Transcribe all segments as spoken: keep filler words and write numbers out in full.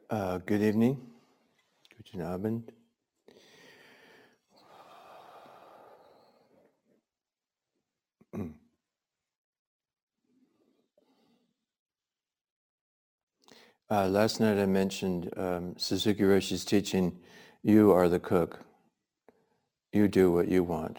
Uh, good evening. Guten Abend. Uh, last night I mentioned um, Suzuki Roshi's teaching, you are the cook. You do what you want.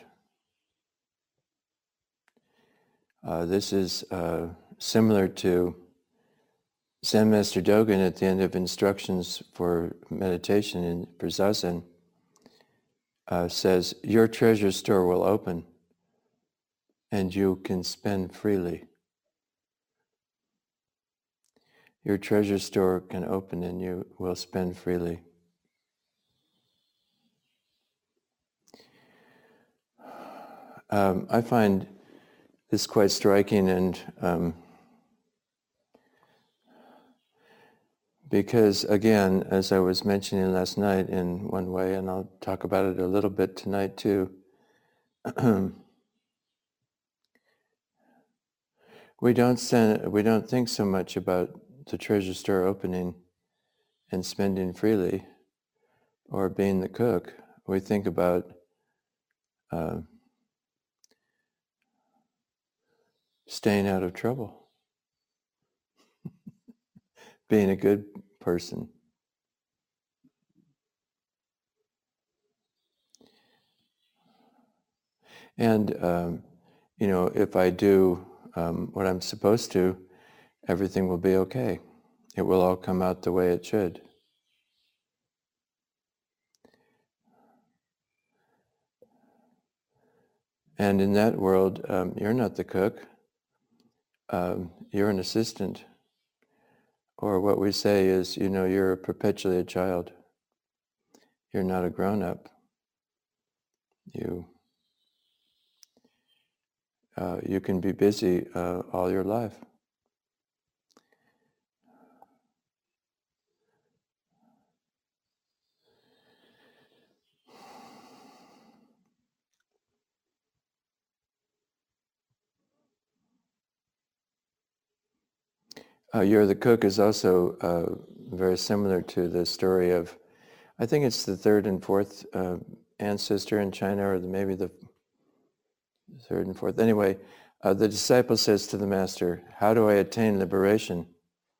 Uh, this is uh, similar to Zen Master Dogen at the end of instructions for meditation in for Zazen uh, says, your treasure store will open and you can spend freely. Your treasure store can open and you will spend freely. Um, I find this quite striking, and um, because again, as I was mentioning last night in one way, and I'll talk about it a little bit tonight too, we don't send, we don't think so much about the treasure store opening and spending freely or being the cook. We think about uh, staying out of trouble, being a good person. And, um, you know, if I do um, what I'm supposed to, everything will be okay. It will all come out the way it should. And in that world, um, you're not the cook. Um, you're an assistant. Or what we say is, you know, you're perpetually a child. You're not a grown-up. You uh, you can be busy uh, all your life. Uh, you're the cook is also uh, very similar to the story of, I think it's the third and fourth uh, ancestor in China, or the, maybe the third and fourth. Anyway, uh, the disciple says to the master, how do I attain liberation?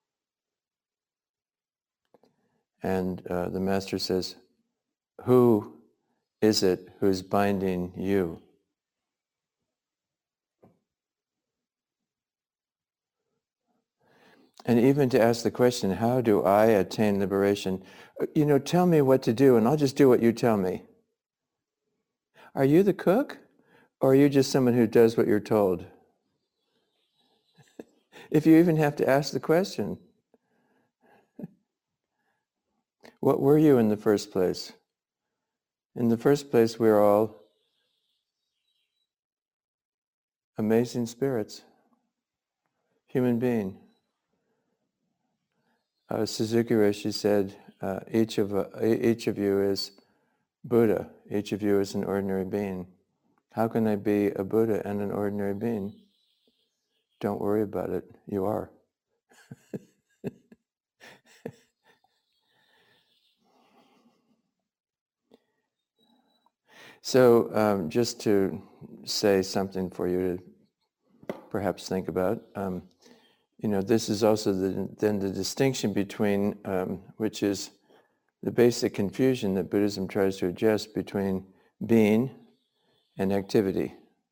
And uh, the master says, who is it who's binding you? And even to ask the question, how do I attain liberation? You know, tell me what to do and I'll just do what you tell me. Are you the cook? Or are you just someone who does what you're told? If you even have to ask the question, what were you in the first place? In the first place, we're all amazing spirits, human being. Uh, Suzuki Roshi said, uh, each of uh, each of you is Buddha. Each of you is an ordinary being. How can I be a Buddha and an ordinary being? Don't worry about it. You are. So um, just to say something for you to perhaps think about, um, you know, this is also the, then the distinction between, um, which is the basic confusion that Buddhism tries to address between being and activity.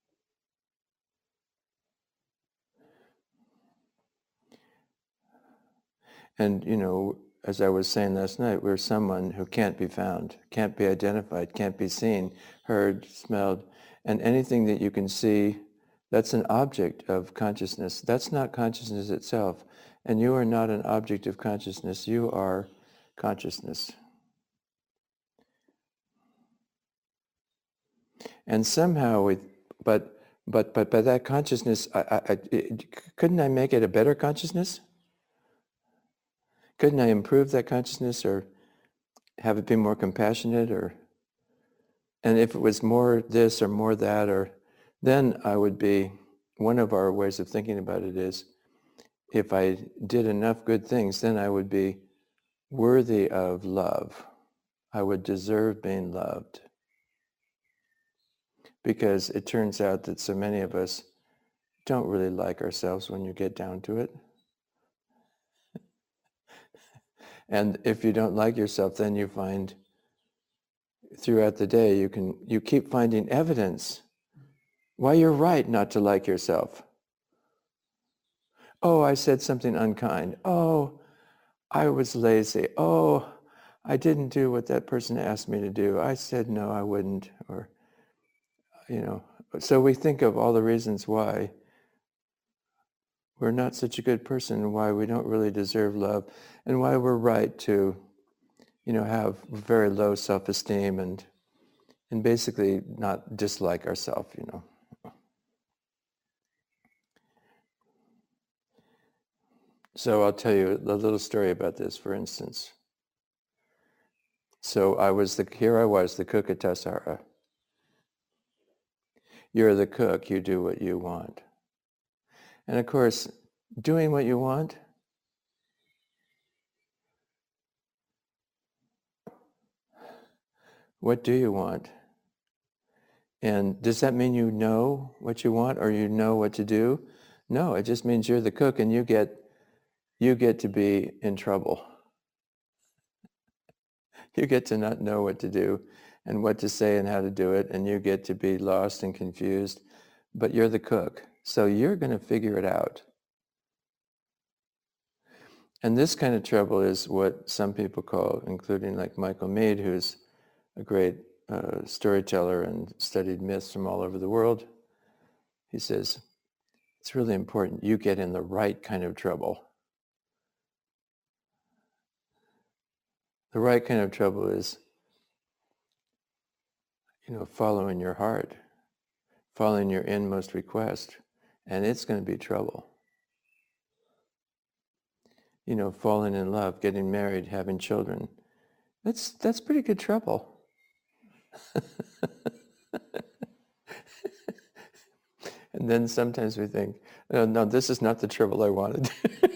And, you know, as I was saying last night, we're someone who can't be found, can't be identified, can't be seen, heard, smelled, and anything that you can see, that's an object of consciousness. That's not consciousness itself. And you are not an object of consciousness. You are consciousness. And somehow, we, but but but by that consciousness, I, I, I, it, couldn't I make it a better consciousness? Couldn't I improve that consciousness, or have it be more compassionate, or and if it was more this or more that, or then I would be, one of our ways of thinking about it is, if I did enough good things, then I would be worthy of love. I would deserve being loved. Because it turns out that so many of us don't really like ourselves when you get down to it. And if you don't like yourself, then you find throughout the day, you can you keep finding evidence why you're right not to like yourself. Oh, I said something unkind. Oh, I was lazy. Oh, I didn't do what that person asked me to do. I said no, I wouldn't. Or, you know, so we think of all the reasons why we're not such a good person and why we don't really deserve love and why we're right to, you know, have very low self-esteem and and basically not dislike ourselves, you know. So I'll tell you a little story about this, for instance. So I was the, here I was, the cook at Tassajara. You're the cook, you do what you want. And of course, doing what you want, what do you want? And does that mean you know what you want or you know what to do? No, it just means you're the cook and you get you get to be in trouble. You get to not know what to do and what to say and how to do it, and you get to be lost and confused, but you're the cook. So you're going to figure it out. And this kind of trouble is what some people call, including like Michael Meade, who's a great uh, storyteller and studied myths from all over the world. He says, it's really important you get in the right kind of trouble. The right kind of trouble is, you know, following your heart, following your inmost request, and it's going to be trouble. You know, falling in love, getting married, having children. That's that's pretty good trouble. And then sometimes we think, oh, no, this is not the trouble I wanted.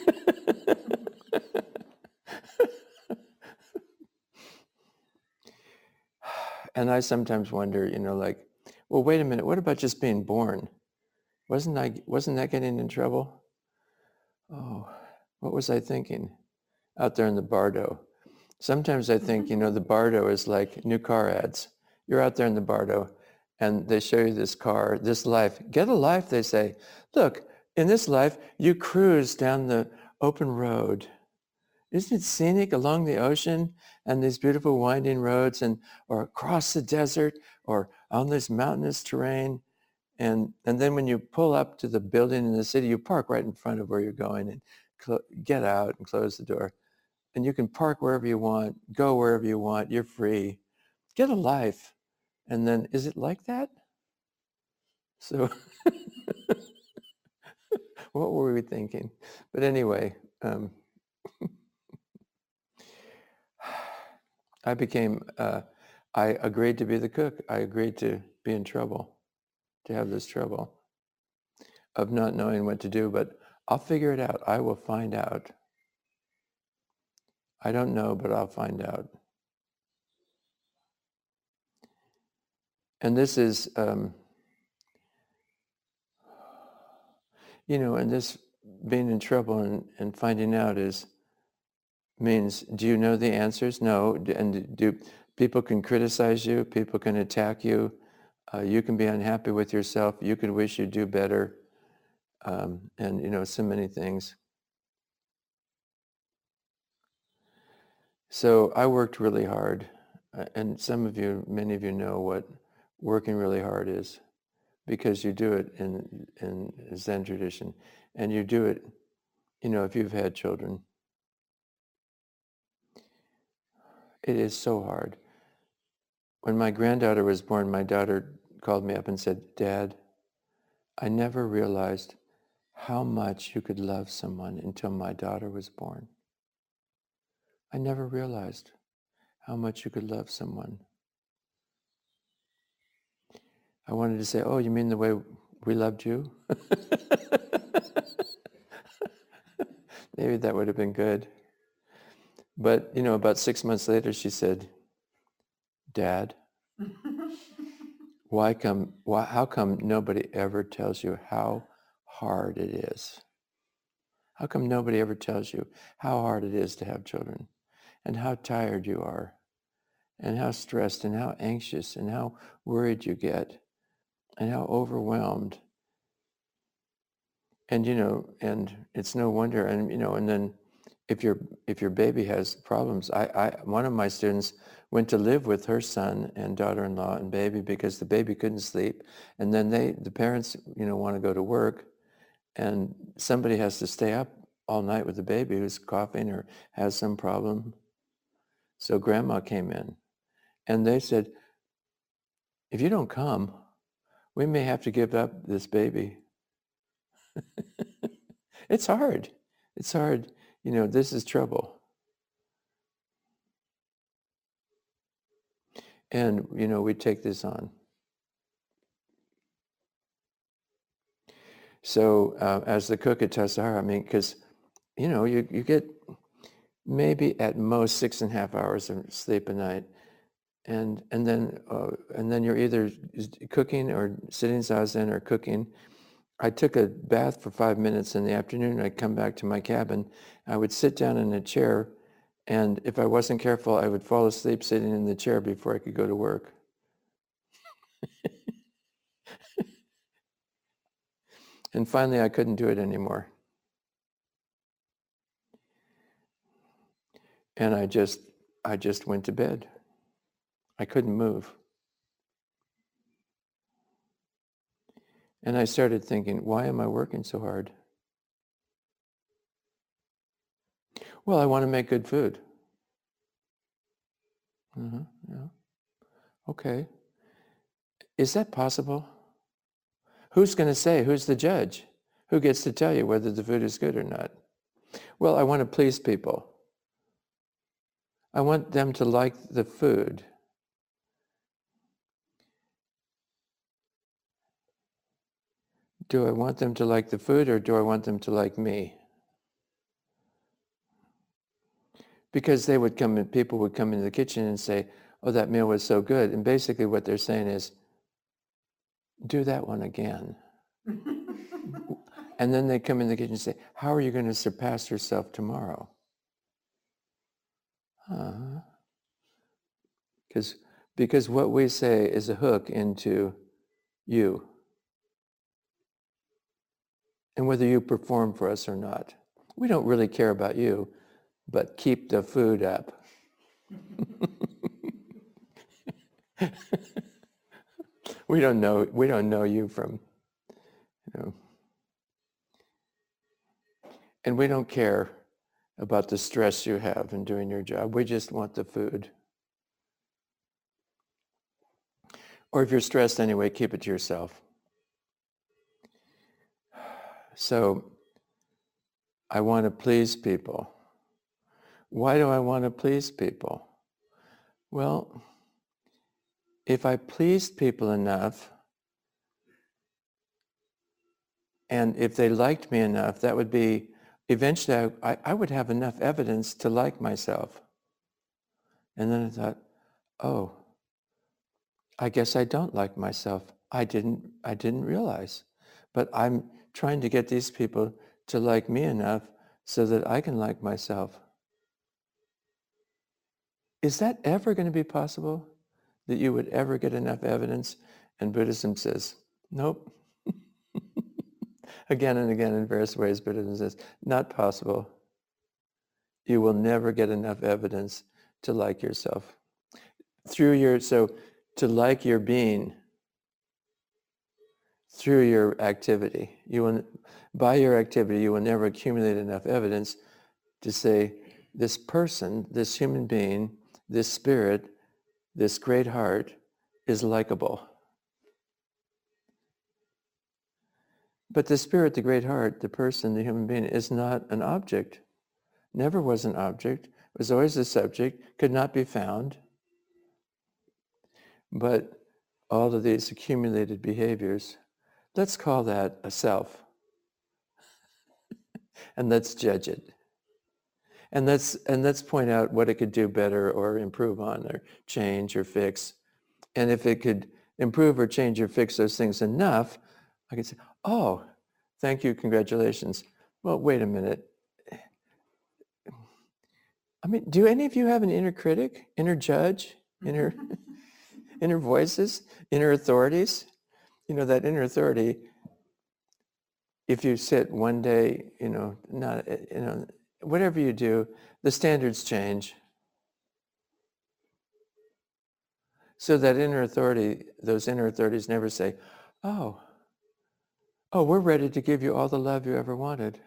And I sometimes wonder, you know, like, well, wait a minute, what about just being born? Wasn't I, wasn't that getting in trouble? Oh, what was I thinking out there in the Bardo? Sometimes I think, you know, the Bardo is like new car ads. You're out there in the Bardo and they show you this car, this life. Get a life, they say. Look, in this life, you cruise down the open road. Isn't it scenic along the ocean and these beautiful winding roads and or across the desert or on this mountainous terrain? And, and then when you pull up to the building in the city, you park right in front of where you're going and cl- get out and close the door. And you can park wherever you want, go wherever you want, you're free. Get a life. And then, is it like that? So what were we thinking? But anyway, um, I became, uh, I agreed to be the cook. I agreed to be in trouble, to have this trouble of not knowing what to do, but I'll figure it out. I will find out. I don't know, but I'll find out. And this is, um, you know, and this being in trouble and, and finding out is, means, do you know the answers? No. And do people can criticize you, people can attack you, uh, you can be unhappy with yourself, you could wish you'd do better, um, and, you know, so many things. So I worked really hard, uh, and some of you, many of you know what working really hard is, because you do it in in Zen tradition, and you do it, you know, if you've had children. It is so hard. When my granddaughter was born, my daughter called me up and said, Dad, I never realized how much you could love someone until my daughter was born. I never realized how much you could love someone. I wanted to say, oh, you mean the way we loved you? Maybe that would have been good. But, you know, about six months later, she said, Dad, why come, why, how come nobody ever tells you how hard it is? How come nobody ever tells you how hard it is to have children and how tired you are and how stressed and how anxious and how worried you get and how overwhelmed? And, you know, and it's no wonder, and, you know, and then if your if your baby has problems, I, I one of my students went to live with her son and daughter-in-law and baby because the baby couldn't sleep. And then they, the parents, you know, want to go to work and somebody has to stay up all night with the baby who's coughing or has some problem. So grandma came in and they said, if you don't come, we may have to give up this baby. It's hard. It's hard. You know, this is trouble. And, you know, we take this on. So uh, as the cook at Tassajara, I mean, because, you know, you, you get maybe at most six and a half hours of sleep a night. And and then uh, and then you're either cooking or sitting zazen or cooking. I took a bath for five minutes in the afternoon. I'd come back to my cabin. I would sit down in a chair, and if I wasn't careful, I would fall asleep sitting in the chair before I could go to work. And finally, I couldn't do it anymore. And I just I just went to bed. I couldn't move. And I started thinking, why am I working so hard? Well, I want to make good food. Uh-huh, yeah. Okay. Is that possible? Who's going to say? Who's the judge? Who gets to tell you whether the food is good or not? Well, I want to please people. I want them to like the food. Do I want them to like the food or do I want them to like me? Because they would come and people would come into the kitchen and say, oh, that meal was so good. And basically what they're saying is, do that one again. And then they come in the kitchen and say, how are you going to surpass yourself tomorrow? Uh-huh. Because because what we say is a hook into you. And whether you perform for us or not. We don't really care about you, but keep the food up. we don't know we don't know you from, you know. And we don't care about the stress you have in doing your job. We just want the food. Or if you're stressed anyway, keep it to yourself. So I want to please people. Why do I want to please people? Well, if I pleased people enough, and if they liked me enough, that would be, eventually I, I would have enough evidence to like myself. And then I thought, oh, I guess I don't like myself. I didn't, I didn't realize. But I'm trying to get these people to like me enough so that I can like myself. Is that ever going to be possible? That you would ever get enough evidence? And Buddhism says, nope. Again and again in various ways, Buddhism says, not possible. You will never get enough evidence to like yourself. Through your, so to like your being, through your activity. You will, by your activity, you will never accumulate enough evidence to say, this person, this human being, this spirit, this great heart is likable. But the spirit, the great heart, the person, the human being is not an object. Never was an object. Was always a subject, could not be found. But all of these accumulated behaviors, let's call that a self. And let's judge it. And let's and let's point out what it could do better or improve on or change or fix. And if it could improve or change or fix those things enough, I could say, oh, thank you, congratulations. Well, wait a minute. I mean, do any of you have an inner critic, inner judge, inner inner voices, inner authorities? You know, that inner authority, if you sit one day, you know, not, you know, whatever you do, the standards change. So that inner authority, those inner authorities never say, oh, oh, we're ready to give you all the love you ever wanted.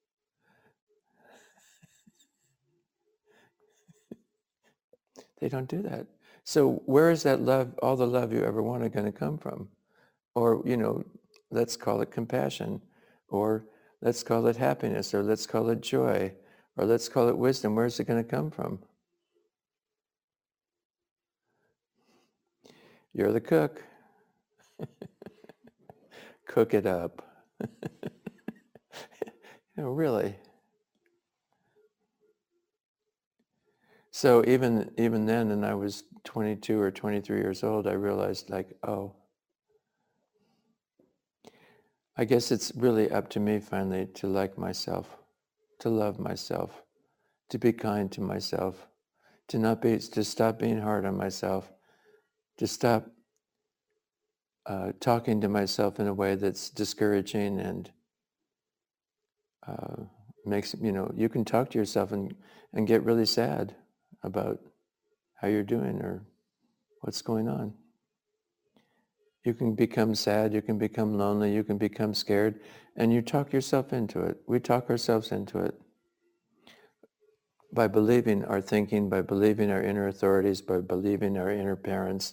They don't do that. So where is that love, all the love you ever wanted, going to come from? Or, you know, let's call it compassion, or let's call it happiness, or let's call it joy, or let's call it wisdom. Where's it going to come from? You're the cook. Cook it up. You know, really. So even even then, and I was twenty-two or twenty-three years old, I realized, like, oh, I guess it's really up to me finally to like myself, to love myself, to be kind to myself, to not be, to stop being hard on myself, to stop uh, talking to myself in a way that's discouraging and uh, makes, you know, you can talk to yourself and, and get really sad about how you're doing or what's going on. You can become sad, you can become lonely, you can become scared, and you talk yourself into it. We talk ourselves into it by believing our thinking, by believing our inner authorities, by believing our inner parents.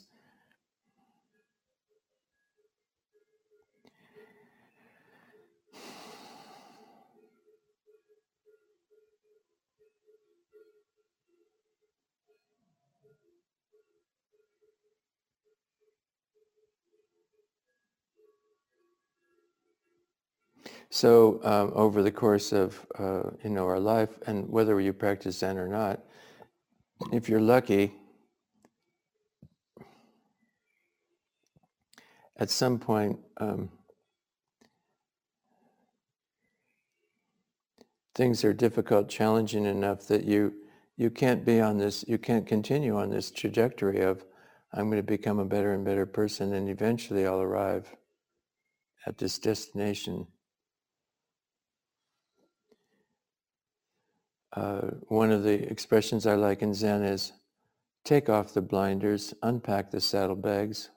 So um, over the course of uh, you know our life, and whether you practice Zen or not, if you're lucky, at some point um, things are difficult, challenging enough that you you can't be on this, you can't continue on this trajectory of I'm going to become a better and better person, and eventually I'll arrive at this destination. Uh, one of the expressions I like in Zen is, take off the blinders, unpack the saddlebags.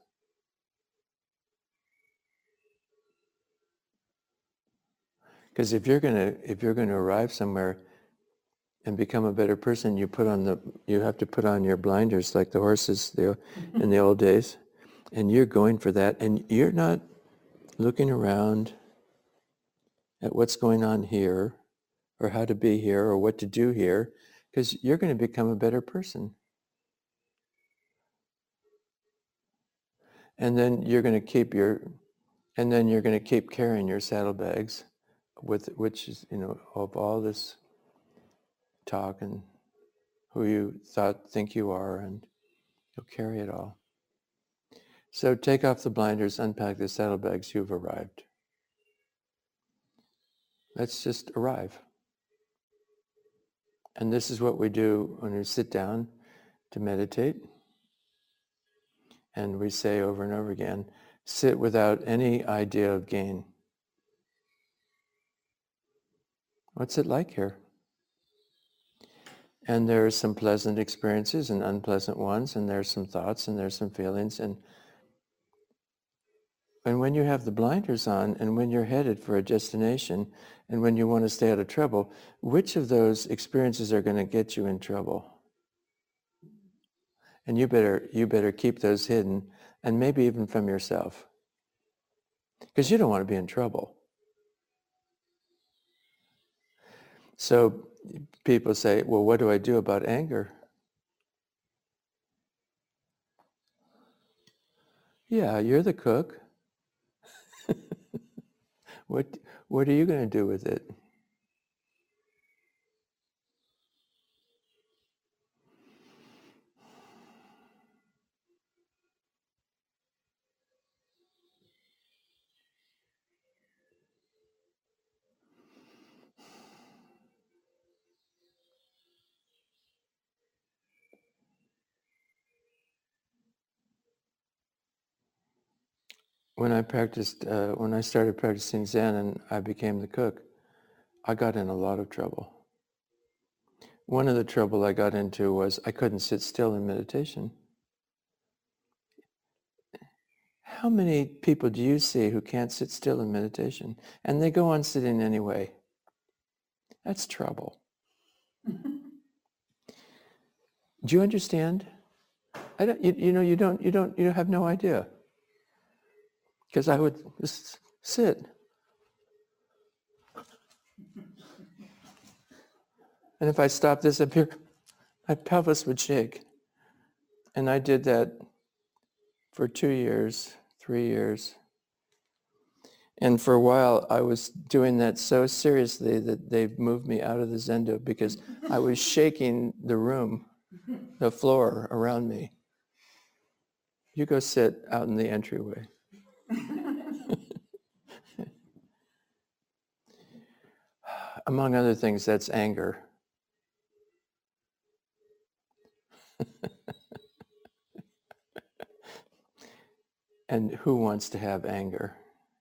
Because if you're gonna if you're gonna arrive somewhere and become a better person, you put on the you have to put on your blinders like the horses the, in the old days, and you're going for that, and you're not looking around at what's going on here, or how to be here, or what to do here, because you're going to become a better person. And then you're going to keep your, and then you're going to keep carrying your saddlebags, with which is, you know, of all this talk and who you thought think you are, and you'll carry it all. So take off the blinders, unpack the saddlebags. You've arrived. Let's just arrive. And this is what we do when we sit down to meditate. And we say over and over again, sit without any idea of gain. What's it like here? And there are some pleasant experiences and unpleasant ones, and there's some thoughts and there's some feelings. And, and when you have the blinders on, and when you're headed for a destination, and when you want to stay out of trouble, which of those experiences are going to get you in trouble? And you better you better keep those hidden, and maybe even from yourself, because you don't want to be in trouble. So people say, well, what do I do about anger? Yeah, you're the cook. What what are you going to do with it? when I practiced, uh, when I started practicing Zen and I became the cook, I got in a lot of trouble. One of the trouble I got into was I couldn't sit still in meditation. How many people do you see who can't sit still in meditation? And they go on sitting anyway. That's trouble. Do you understand? I don't, you, you know, you don't, you don't, you have no idea. Because I would just sit. And if I stopped this up here, my pelvis would shake. And I did that for two years, three years. And for a while, I was doing that so seriously that they moved me out of the Zendo because I was shaking the room, the floor around me. You go sit out in the entryway. Among other things, that's anger. And who wants to have anger?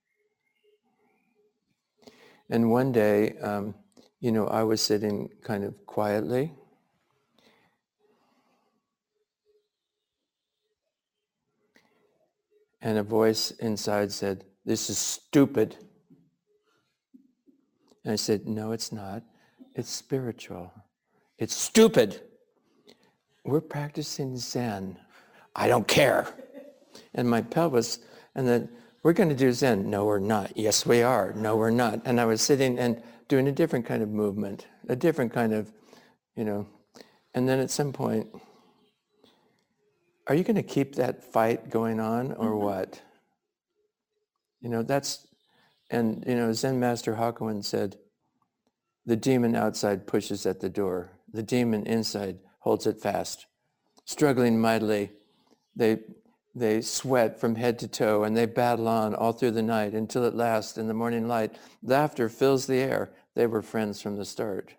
And one day, um, you know, I was sitting kind of quietly. And a voice inside said, "This is stupid." And I said, "No, it's not. It's spiritual. It's stupid. We're practicing Zen. I don't care." And my pelvis, and then, "We're going to do Zen." "No, we're not." "Yes, we are." "No, we're not." And I was sitting and doing a different kind of movement, a different kind of, you know. And then at some point, are you going to keep that fight going on or what? You know, that's, and, you know, Zen Master Hakuin said, the demon outside pushes at the door. The demon inside holds it fast. Struggling mightily, they they sweat from head to toe and they battle on all through the night until at last, in the morning light, laughter fills the air. They were friends from the start.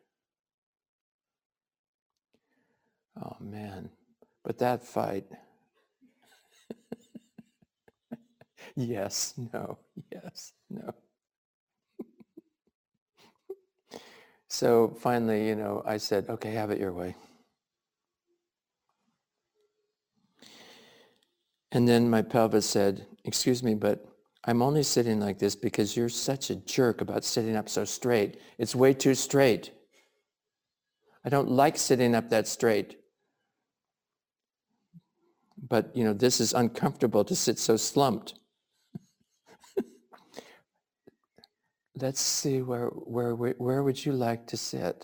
Oh, man. But that fight, yes, no, yes, no. So finally, you know, I said, okay, have it your way. And then my pelvis said, excuse me, but I'm only sitting like this because you're such a jerk about sitting up so straight. It's way too straight. I don't like sitting up that straight. But, you know, this is uncomfortable to sit so slumped. Let's see, where, where, where would you like to sit?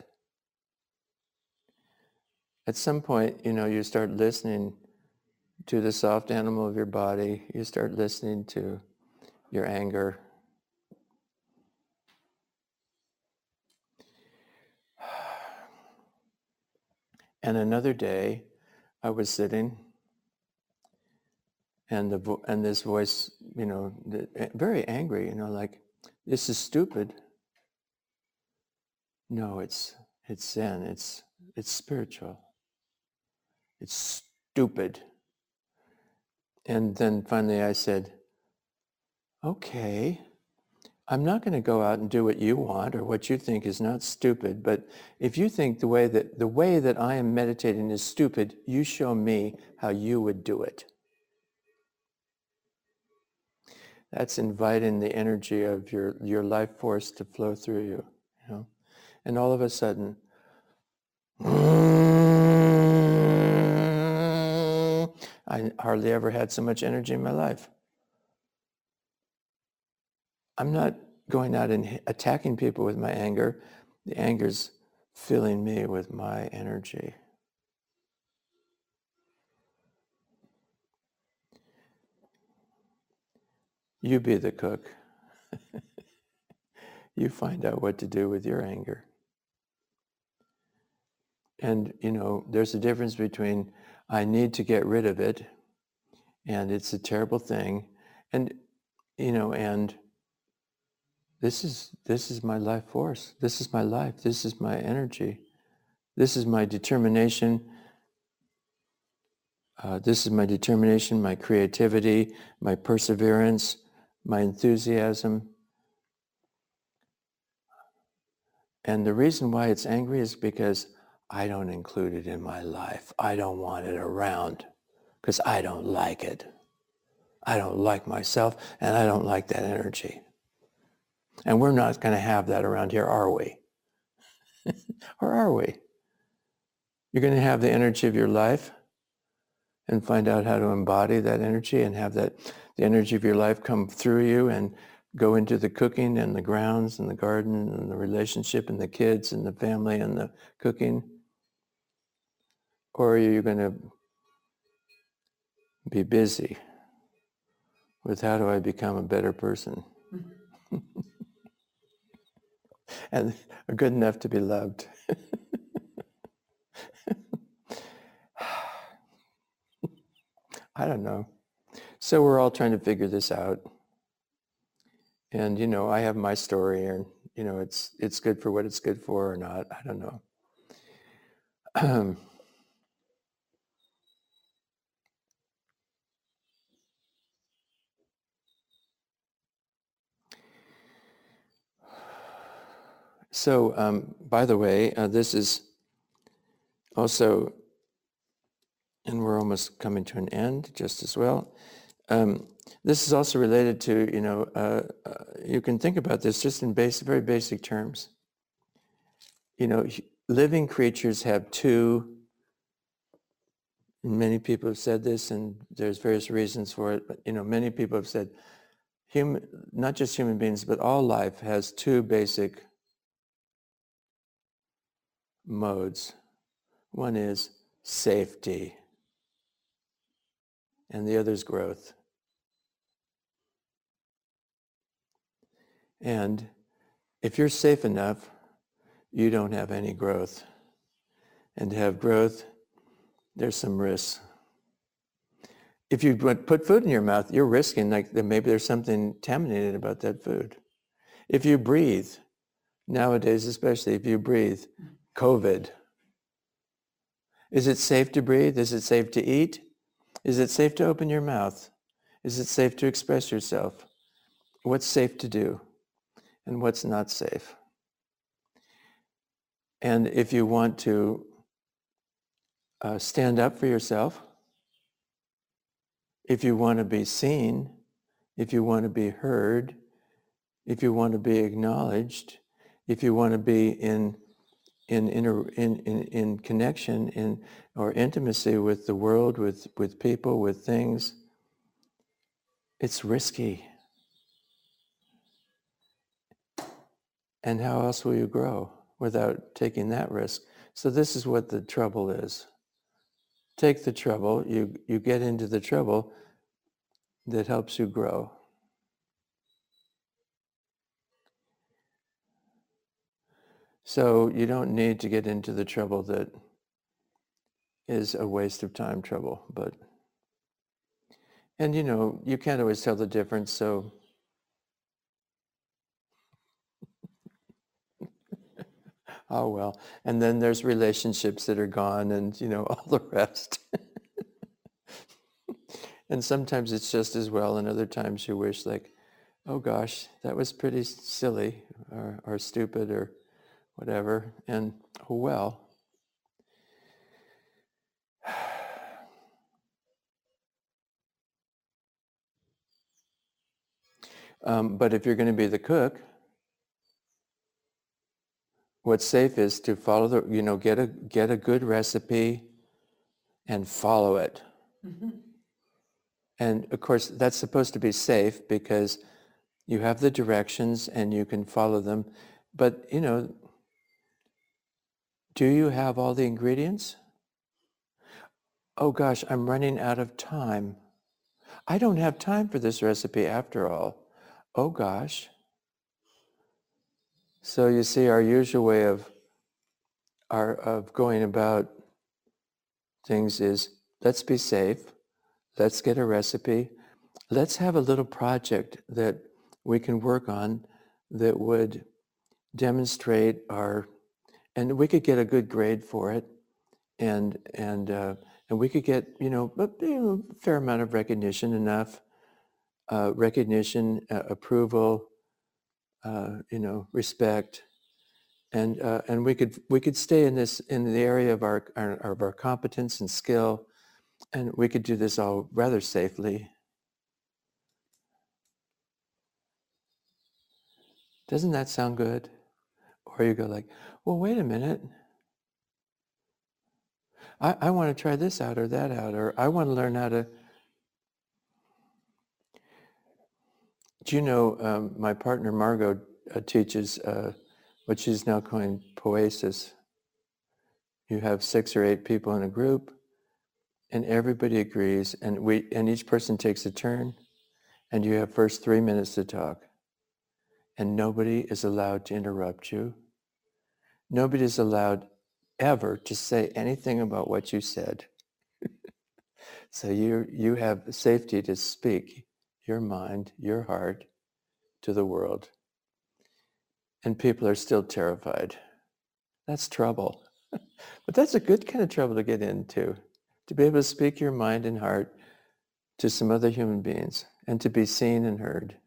At some point, you know, you start listening to the soft animal of your body. You start listening to your anger. And another day, I was sitting, and the vo- and this voice, you know, the, very angry, you know, like, this is stupid. No, it's it's Zen. It's it's spiritual. It's stupid. And then finally, I said, okay. I'm not going to go out and do what you want or what you think is not stupid, but if you think the way that the way that I am meditating is stupid, you show me how you would do it. That's inviting the energy of your, your life force to flow through you, you know. And all of a sudden, I hardly ever had so much energy in my life. I'm not going out and attacking people with my anger. The anger's filling me with my energy. You be the cook. You find out what to do with your anger. And, you know, there's a difference between I need to get rid of it and it's a terrible thing. And, you know, and this is this is my life force. This is my life. This is my energy. This is my determination. Uh, this is my determination, my creativity, my perseverance, my enthusiasm. And the reason why it's angry is because I don't include it in my life. I don't want it around because I don't like it. I don't like myself, and I don't like that energy. And we're not going to have that around here, are we? Or are we? You're going to have the energy of your life and find out how to embody that energy and have that the energy of your life come through you and go into the cooking and the grounds and the garden and the relationship and the kids and the family and the cooking. Or are you going to be busy with how do I become a better person and good enough to be loved? I don't know. So we're all trying to figure this out. And, you know, I have my story and, you know, it's it's good for what it's good for or not. I don't know. So, um, by the way, uh, this is also, and we're almost coming to an end just as well. Um, this is also related to, you know, uh, uh, you can think about this just in basic, very basic terms. You know, living creatures have two, many people have said this and there's various reasons for it, but, you know, many people have said, human, not just human beings, but all life has two basic modes. One is safety, and the other is growth. And if you're safe enough, you don't have any growth. And to have growth, there's some risks. If you put food in your mouth, you're risking like that maybe there's something contaminated about that food. If you breathe, nowadays especially, if you breathe, COVID. Is it safe to breathe? Is it safe to eat? Is it safe to open your mouth? Is it safe to express yourself? What's safe to do and what's not safe? And if you want to uh, stand up for yourself, if you want to be seen, if you want to be heard, if you want to be acknowledged, if you want to be in in inter, in, in in connection in or intimacy with the world, with with people, with things, it's risky. And how else will you grow without taking that risk? So this is what the trouble is. Take the trouble, you you get into the trouble that helps you grow. So you don't need to get into the trouble that is a waste of time trouble, but, and you know, you can't always tell the difference, so oh well. And then there's relationships that are gone and, you know, all the rest. And sometimes it's just as well, and other times you wish like, oh gosh, that was pretty silly or, or stupid or whatever, and oh well. Um, but if you're going to be the cook, what's safe is to follow the, you know, get a get a good recipe and follow it. Mm-hmm. And of course, that's supposed to be safe because you have the directions and you can follow them. But, you know, do you have all the ingredients? Oh gosh, I'm running out of time. I don't have time for this recipe after all. Oh gosh. So you see, our usual way of our of going about things is, let's be safe, let's get a recipe, let's have a little project that we can work on that would demonstrate our, and we could get a good grade for it, and and uh, and we could get, you know, a, you know, fair amount of recognition, enough uh, recognition, uh, approval, uh, you know, respect, and uh, and we could we could stay in this in the area of our, our of our competence and skill, and we could do this all rather safely. Doesn't that sound good? Or you go like, well, wait a minute. I, I want to try this out or that out, or I want to learn how to. Do you know um, my partner Margot uh, teaches uh, what she's now calling poesis. You have six or eight people in a group, and everybody agrees, and we and each person takes a turn, and you have first three minutes to talk, and nobody is allowed to interrupt you. Nobody is allowed ever to say anything about what you said. So you you have safety to speak your mind, your heart to the world. And people are still terrified. That's trouble. But that's a good kind of trouble to get into, to be able to speak your mind and heart to some other human beings and to be seen and heard.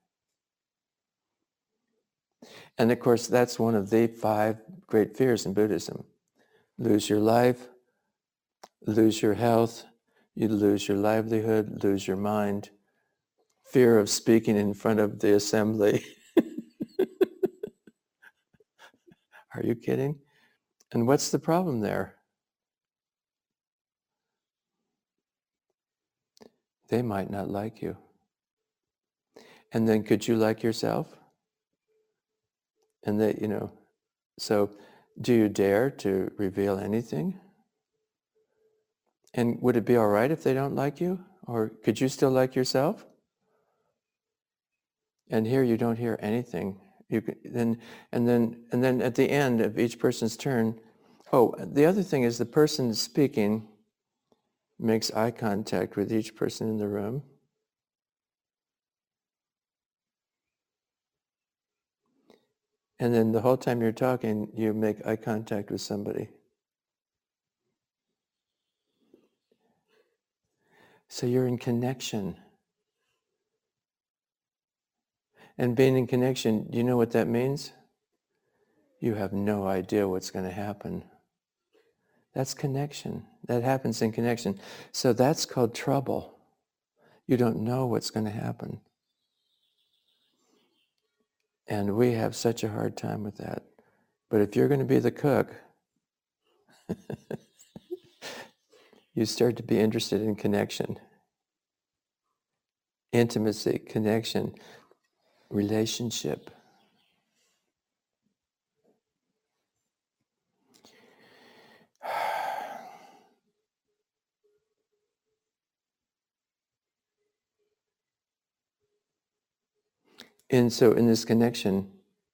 And of course, that's one of the five great fears in Buddhism. Lose your life, lose your health, you lose your livelihood, lose your mind, fear of speaking in front of the assembly. Are you kidding? And what's the problem there? They might not like you. And then could you like yourself? And that, you know, so do you dare to reveal anything? And would it be all right if they don't like you? Or could you still like yourself? And here you don't hear anything. You can, then, and then, and then at the end of each person's turn, oh, the other thing is the person speaking makes eye contact with each person in the room. And then the whole time you're talking, you make eye contact with somebody. So you're in connection. And being in connection, do you know what that means? You have no idea what's going to happen. That's connection. That happens in connection. So that's called trouble. You don't know what's going to happen. And we have such a hard time with that. But if you're going to be the cook, you start to be interested in connection, intimacy, connection, relationship. And so in this connection,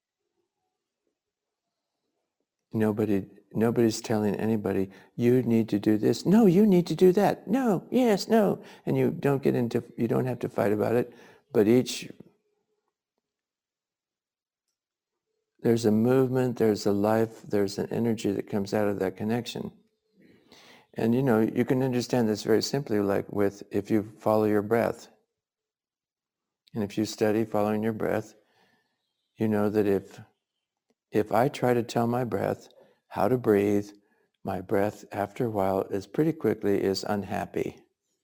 nobody nobody's telling anybody, you need to do this. No, you need to do that. No, yes, no. And you don't get into, you don't have to fight about it, but each, there's a movement, there's a life, there's an energy that comes out of that connection. And you know, you can understand this very simply, like with, if you follow your breath. And if you study following your breath, you know that if if I try to tell my breath how to breathe, my breath after a while is pretty quickly is unhappy.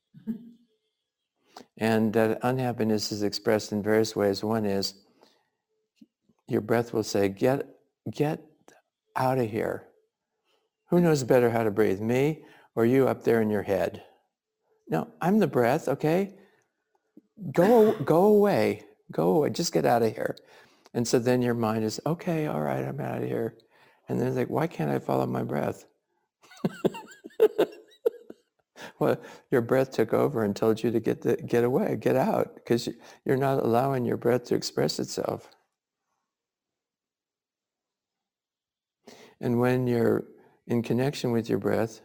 And that unhappiness is expressed in various ways. One is your breath will say, get get out of here. Who knows better how to breathe, me or you up there in your head? No, I'm the breath, okay? Go go away. Go away. Just get out of here. And so then your mind is, okay, all right, I'm out of here. And then it's like, why can't I follow my breath? Well, your breath took over and told you to get the, get away, get out, because you're not allowing your breath to express itself. And when you're in connection with your breath,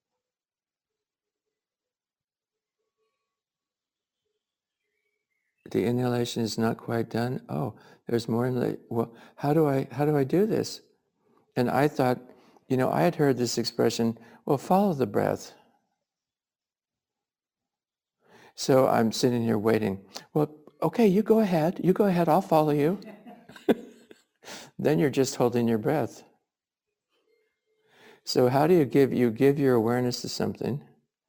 the inhalation is not quite done. Oh, there's more inhalation. Well, how do I how do I do this? And I thought, you know, I had heard this expression, well, follow the breath. So I'm sitting here waiting. Well, okay, you go ahead, you go ahead, I'll follow you. Then you're just holding your breath. So how do you give, you give your awareness to something,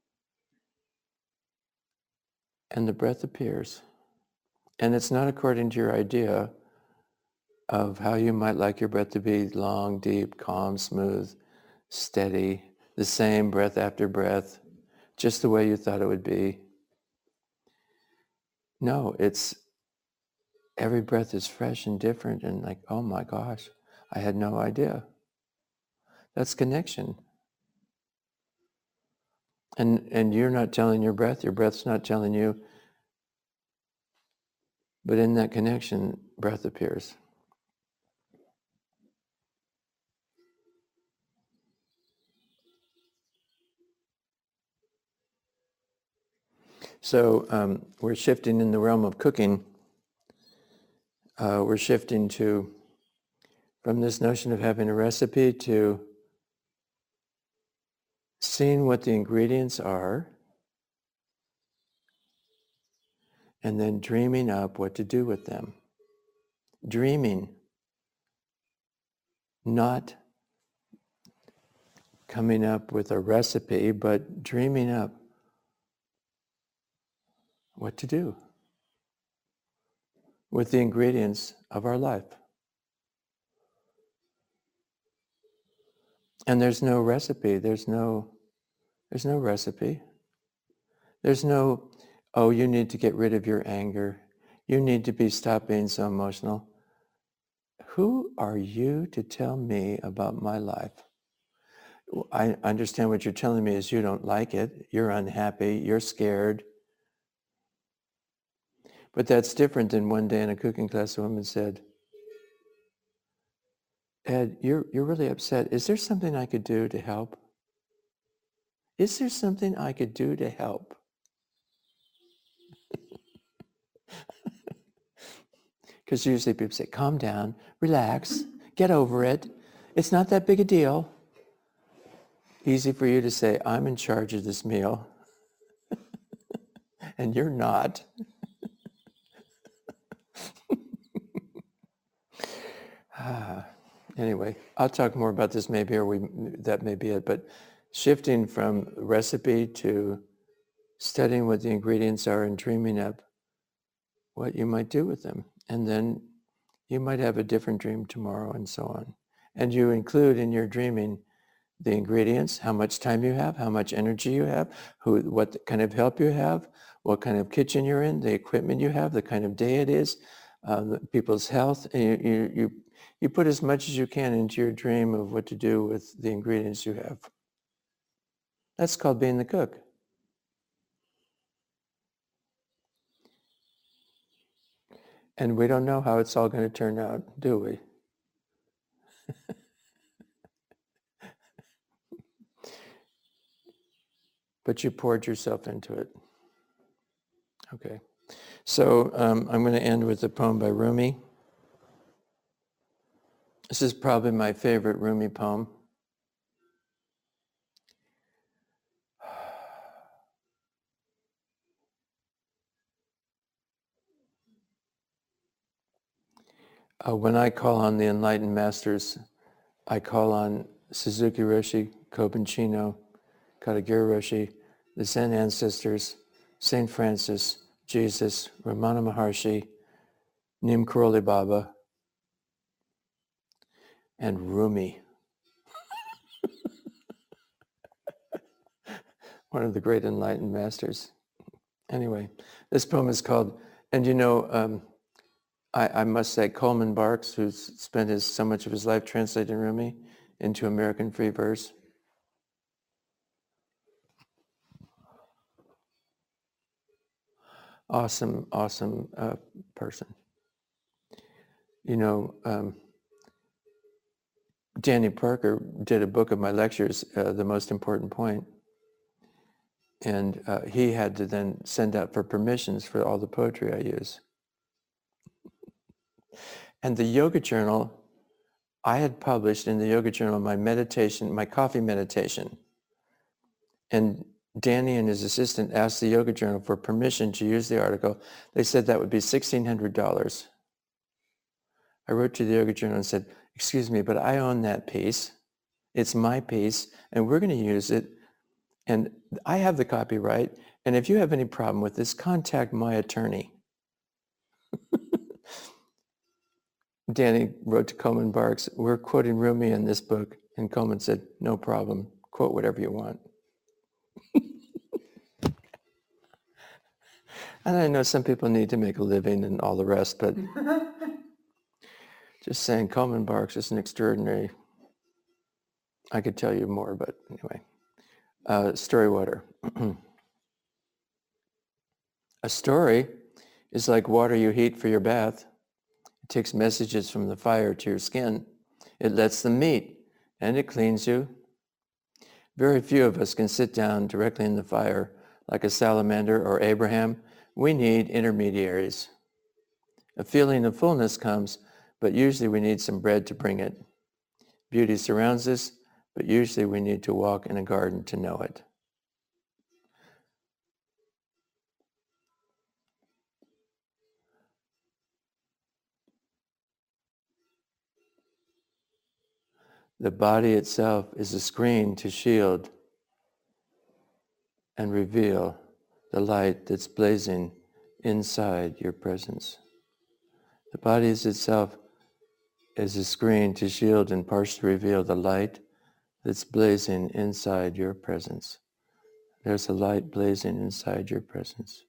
and the breath appears. And it's not according to your idea of how you might like your breath to be, long, deep, calm, smooth, steady, the same breath after breath, just the way you thought it would be. No, it's every breath is fresh and different and like, oh my gosh, I had no idea. That's connection. And and you're not telling your breath, your breath's not telling you, but in that connection, breath appears. So um, we're shifting in the realm of cooking. Uh, we're shifting to, from this notion of having a recipe to seeing what the ingredients are and then dreaming up what to do with them. Dreaming, not coming up with a recipe, but dreaming up what to do with the ingredients of our life. And there's no recipe, there's no, there's no recipe. There's no, oh, you need to get rid of your anger. You need to be, stop being so emotional. Who are you to tell me about my life? I understand what you're telling me is you don't like it, you're unhappy, you're scared. But that's different than one day in a cooking class, a woman said, Ed, you're, you're really upset. Is there something I could do to help? Is there something I could do to help? Because usually people say, calm down, relax, get over it. It's not that big a deal. Easy for you to say, I'm in charge of this meal. And you're not. ah, anyway, I'll talk more about this maybe, or we that may be it. But shifting from recipe to studying what the ingredients are and dreaming up what you might do with them. And then you might have a different dream tomorrow and so on. And you include in your dreaming the ingredients, how much time you have, how much energy you have, who, what kind of help you have, what kind of kitchen you're in, the equipment you have, the kind of day it is, uh, the people's health. And you, you, you, you put as much as you can into your dream of what to do with the ingredients you have. That's called being the cook. And we don't know how it's all going to turn out, do we? But you poured yourself into it. Okay. So um, I'm going to end with a poem by Rumi. This is probably my favorite Rumi poem. Uh, when I call on the enlightened masters, I call on Suzuki Roshi, Kobun Chino, Katagiri Roshi, the Zen ancestors, Saint Francis, Jesus, Ramana Maharshi, Neem Karoli Baba, and Rumi, one of the great enlightened masters. Anyway, this poem is called, and you know, um, I, I must say Coleman Barks, who's spent his, so much of his life translating Rumi into American free verse. Awesome, awesome uh, person. You know, um, Danny Parker did a book of my lectures, uh, The Most Important Point, and uh, he had to then send out for permissions for all the poetry I use. And the Yoga Journal, I had published in the Yoga Journal my meditation, my coffee meditation. And Danny and his assistant asked the Yoga Journal for permission to use the article. They said that would be sixteen hundred dollars. I wrote to the Yoga Journal and said, excuse me, but I own that piece. It's my piece, and we're going to use it. And I have the copyright. And if you have any problem with this, contact my attorney. Danny wrote to Coleman Barks, we're quoting Rumi in this book. And Coleman said, no problem. Quote whatever you want. And I know some people need to make a living and all the rest, but just saying Coleman Barks is an extraordinary, I could tell you more, but anyway. Uh, story water. A story is like water you heat for your bath. It takes messages from the fire to your skin. It lets them meet, and it cleans you. Very few of us can sit down directly in the fire like a salamander or Abraham. We need intermediaries. A feeling of fullness comes, but usually we need some bread to bring it. Beauty surrounds us, but usually we need to walk in a garden to know it. The body itself is a screen to shield and reveal the light that's blazing inside your presence. The body is itself is a screen to shield and partially reveal the light that's blazing inside your presence. There's a light blazing inside your presence.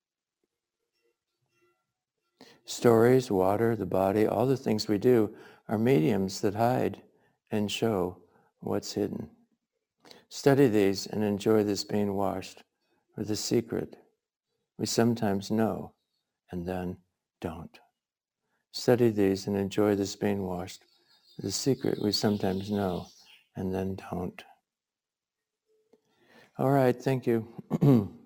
Stories, water, the body, all the things we do are mediums that hide and show what's hidden. Study these and enjoy this being washed with the secret we sometimes know and then don't. Study these and enjoy this being washed with the secret we sometimes know and then don't. All right, thank you.